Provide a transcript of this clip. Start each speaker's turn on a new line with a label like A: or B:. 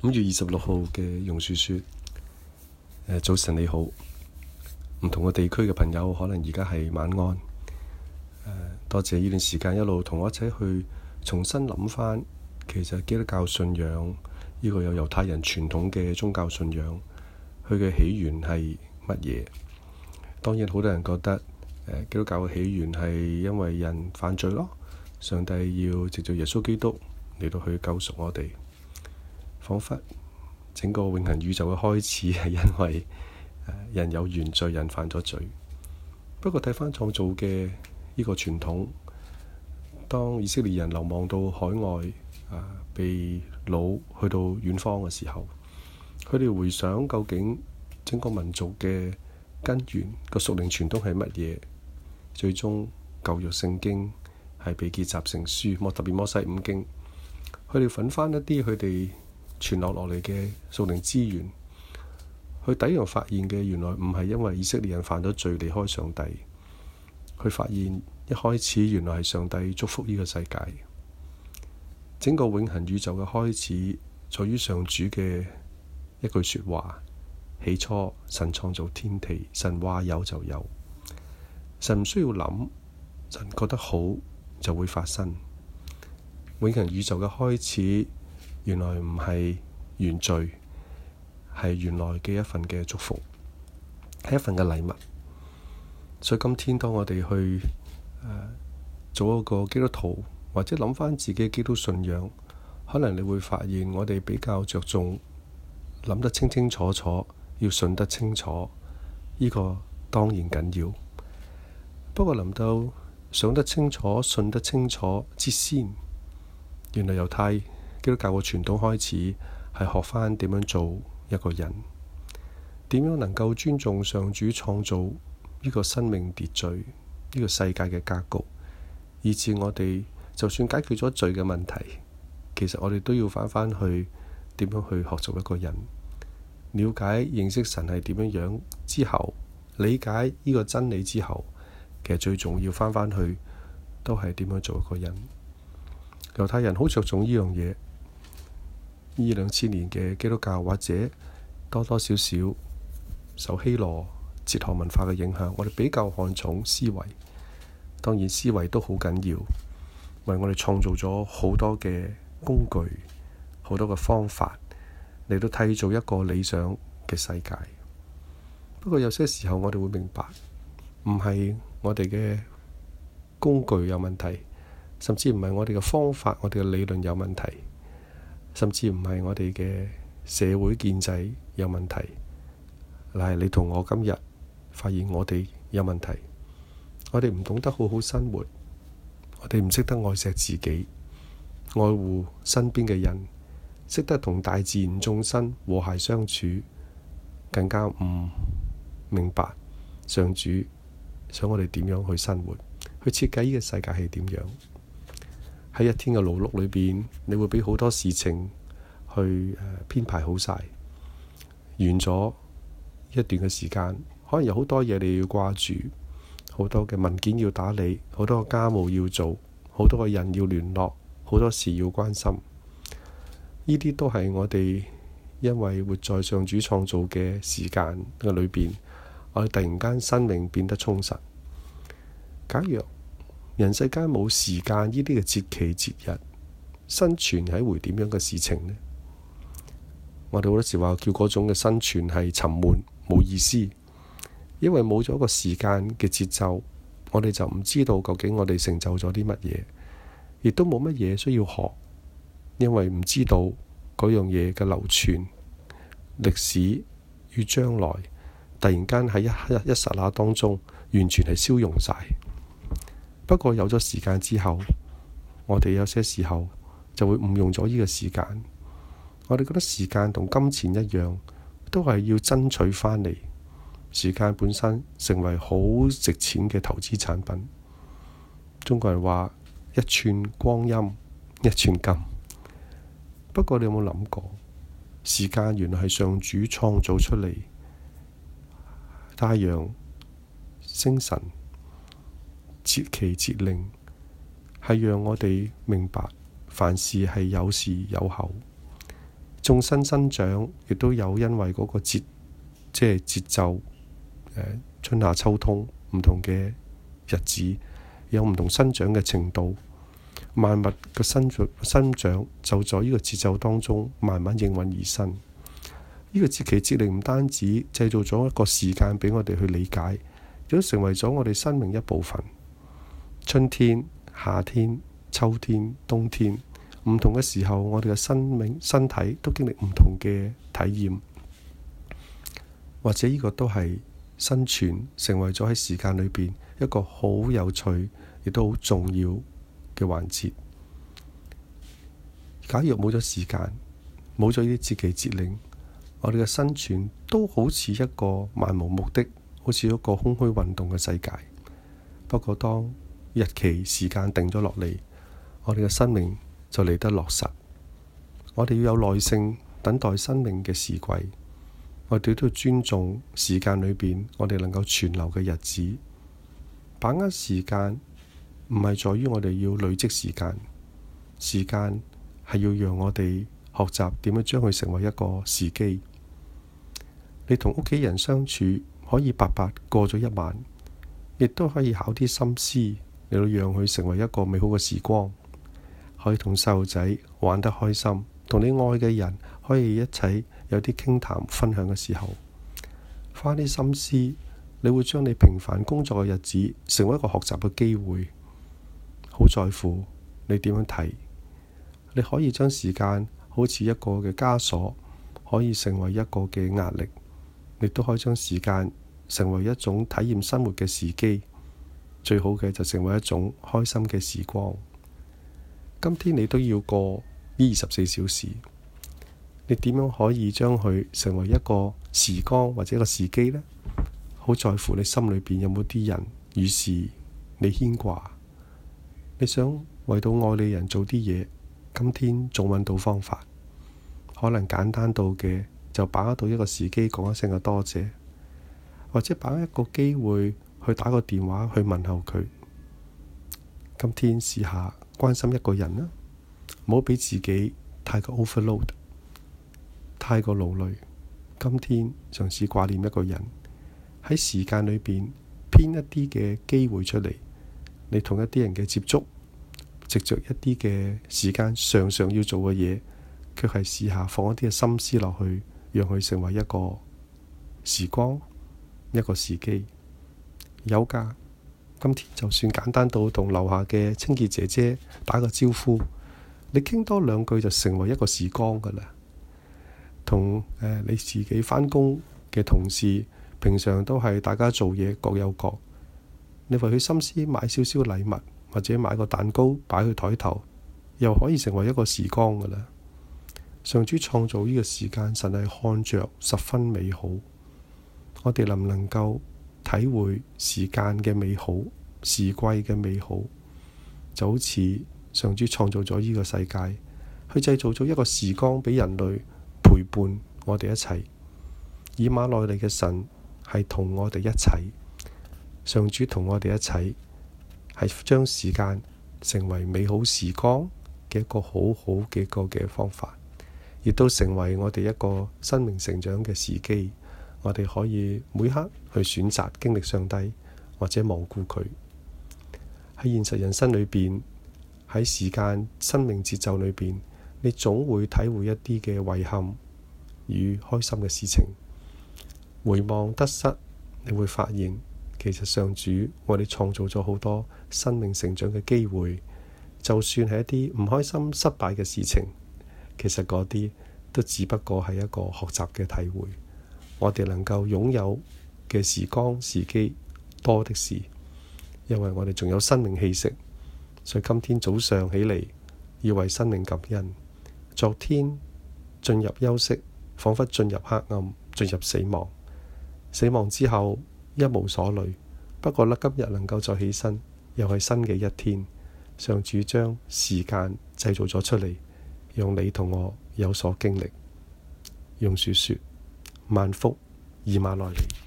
A: 5月26號嘅榕樹說：早晨你好，唔同嘅地區嘅朋友可能而家係晚安。多謝呢段時間一路同我一齊去重新諗翻，其實基督教信仰呢個有猶太人傳統嘅宗教信仰，佢嘅起源係乜嘢？當然好多人覺得基督教嘅起源係因為人犯罪咯，上帝要藉着耶穌基督嚟到去救贖我哋。彷彿整個永恆宇宙嘅開始係因為人有原罪，人犯咗罪。不過睇返創造嘅呢個傳統，當以色列人流亡到海外被擄去到遠方嘅時候，佢哋回想究竟整個民族嘅根源個屬靈傳統係乜嘢？最終舊約聖經係被結集成書，特別摩西五經，佢哋揾返一啲佢哋傳落嚟嘅屬靈資源，佢第一樣發現嘅原來唔係因為以色列人犯咗罪離開上帝，佢發現一開始原來係上帝祝福呢個世界。整個永恆宇宙嘅開始在於上主嘅一句說話：起初神創造天地，神話有就有。神唔需要諗，神覺得好就會發生。永恆宇宙嘅開始原來唔係原罪，係原來嘅一份嘅祝福，係一份嘅禮物。所以今天當我哋去做一個基督徒，或者諗翻自己嘅基督信仰，可能你會發現我哋比較着重諗得清清楚楚，要信得清楚，呢個當然緊要。不過臨到想得清楚、信得清楚之先，原來猶太基督教嘅傳統開始係學返點樣做一個人，點樣能夠尊重上主創造呢個生命秩序、呢個世界嘅格局，以致我哋就算解決咗罪嘅問題，其實我哋都要返去點樣去學做一個人，了解認識神係點樣樣之後，理解呢個真理之後，其實最重要返去都係點樣做一個人。猶太人好着重呢樣嘢，呢2000年嘅基督教或者多多少少受希羅哲學文化嘅影響，我哋比較看重思維。當然思維都好緊要，為我哋創造咗好多嘅工具，好多嘅方法嚟到締造一個理想嘅世界。不過有些時候我哋會明白，唔係我哋嘅工具有問題，甚至唔係我哋嘅方法、我哋嘅理論有問題，甚至唔係我哋嘅社會建制有問題，乃係你同我今日發現我哋有問題。我哋唔懂得好好生活，我哋唔識得愛錫自己，愛護身邊嘅人，識得同大自然眾生和諧相處，更加唔明白上主想我哋點樣去生活，去設計呢個世界係點樣。喺一天嘅勞碌裏邊，你會俾好多事情去編排好晒，完咗一段嘅時間，可能有好多嘢你要掛住，好多嘅文件要打理，好多嘅家務要做，好多嘅人要聯絡，好多事要關心。呢啲都係我哋因為活在上主創造嘅時間嘅裏邊，我哋突然間生命變得充實。假若人世間冇時間呢啲嘅節期節日，生存係一回點樣嘅事情呢？我哋好多時話叫嗰種嘅生存係沉悶冇意思，因為冇咗個時間嘅節奏，我哋就唔知道究竟我哋成就咗啲乜嘢，亦都冇乜嘢需要學，因為唔知道嗰樣嘢嘅流傳歷史與將來，突然間喺一剎那當中完全係消融晒。不過有咗時間之後，我哋有些時候就會誤用咗呢個時間。我哋覺得時間同金錢一樣，都係要爭取返嚟。時間本身成為好值錢嘅投資產品。中國人話一寸光陰一寸金。不過你有冇諗過，時間原來係上主創造出嚟，太陽、星辰、節期節令，係讓我哋明白凡事係有時有候。 眾生生長亦都有因為嗰個節奏，春夏秋冬唔同嘅日子，有唔同生長嘅程度。萬物嘅生長就在呢個節奏當中慢慢應運而生。呢個節期節令唔單止製造咗一個時間俾我哋去理解，亦都成為咗我哋生命一部分。春天、夏天、秋天、冬天，唔同嘅時候，我哋嘅身體都經歷唔同嘅體驗，或者呢個都係生存成為咗喺時間裏邊一個好有趣亦都好重要嘅環節。假如冇咗時間，冇咗呢啲節期節令，我哋嘅生存都好似一個漫無目的，好似一個空虛運動嘅世界。不過當日期時間定咗落嚟，我哋嘅生命就嚟得落實。我哋要有耐性等待生命嘅時季，我哋都要尊重時間裏邊我哋能夠存留嘅日子。把握時間唔係在於我哋要累積時間，時間係要讓我哋學習點樣將佢成為一個時機。你同屋企人相處可以白白過咗一晚，亦都可以考啲心思嚟到讓佢成為一個美好嘅時光。可以同細路仔玩得開心，同你愛嘅人可以一齊有啲傾談分享嘅時候，花啲心思，你會將你平凡工作嘅日子成為一個學習嘅機會。好在乎你點樣睇，你可以將時間好似一個嘅枷鎖，可以成為一個嘅壓力，你都可以將時間成為一種體驗生活嘅時機。最好嘅就成為一種開心嘅時光。今天你都要過呢24小時，你點樣可以將佢成為一個時光或者一個時機呢？好在乎你心裏邊有冇啲人於是你牽掛，你想為到愛你人做啲嘢，今天仲揾到方法，可能簡單到嘅就把握到一個時機講一聲嘅多謝，或者把握一個機會去打個電話去問候佢。今天試下關心一個人啦，唔好俾自己太過 overload， 太過勞累。今天嘗試掛念一個人，喺時間裏邊編一啲嘅機會出嚟，你同一啲人嘅接觸，藉着一啲嘅時間常常要做嘅嘢，卻係試下放一啲嘅心思落去，讓佢成為一個時光，一個時機。有㗎，今天就算簡單到同樓下嘅清潔姐姐打個招呼，你傾多兩句就成為一個時光㗎啦。同你自己返工嘅同事，平常都係大家做嘢各有各，你為佢心思買少少禮物，或者買個蛋糕擺去枱頭，又可以成為一個時光㗎啦。上主創造呢個時間，神係看着十分美好。我哋能唔能夠體會時間嘅美好，時季嘅美好，就好似上主創造咗呢個世界，去製造咗一個時光俾人類陪伴我哋一齊。以馬內利嘅神係同我哋一齊，上主同我哋一齊，係將時間成為美好時光嘅一個好好嘅一個嘅方法，亦都成為我哋一個生命成長嘅時機。我哋可以每刻去選擇經歷上帝，或者罔顧佢。喺現實人生裏邊，喺時間生命節奏裏邊，你總會體會一啲嘅遺憾與開心嘅事情。回望得失，你會發現其實上主為你創造咗好多生命成長嘅機會。就算係一啲唔開心失敗嘅事情，其實嗰啲都只不過係一個學習嘅體會。我哋能夠擁有嘅時光時機多的是，因為我哋仲有生命氣息。所以今天早上起嚟要為生命感恩。昨天進入休息，彷彿進入黑暗，進入死亡。死亡之後一無所慮，不過今日能夠再起身，又係新嘅一天。上主將時間製造咗出嚟，讓你同我有所經歷。用樹說：萬福以馬內利。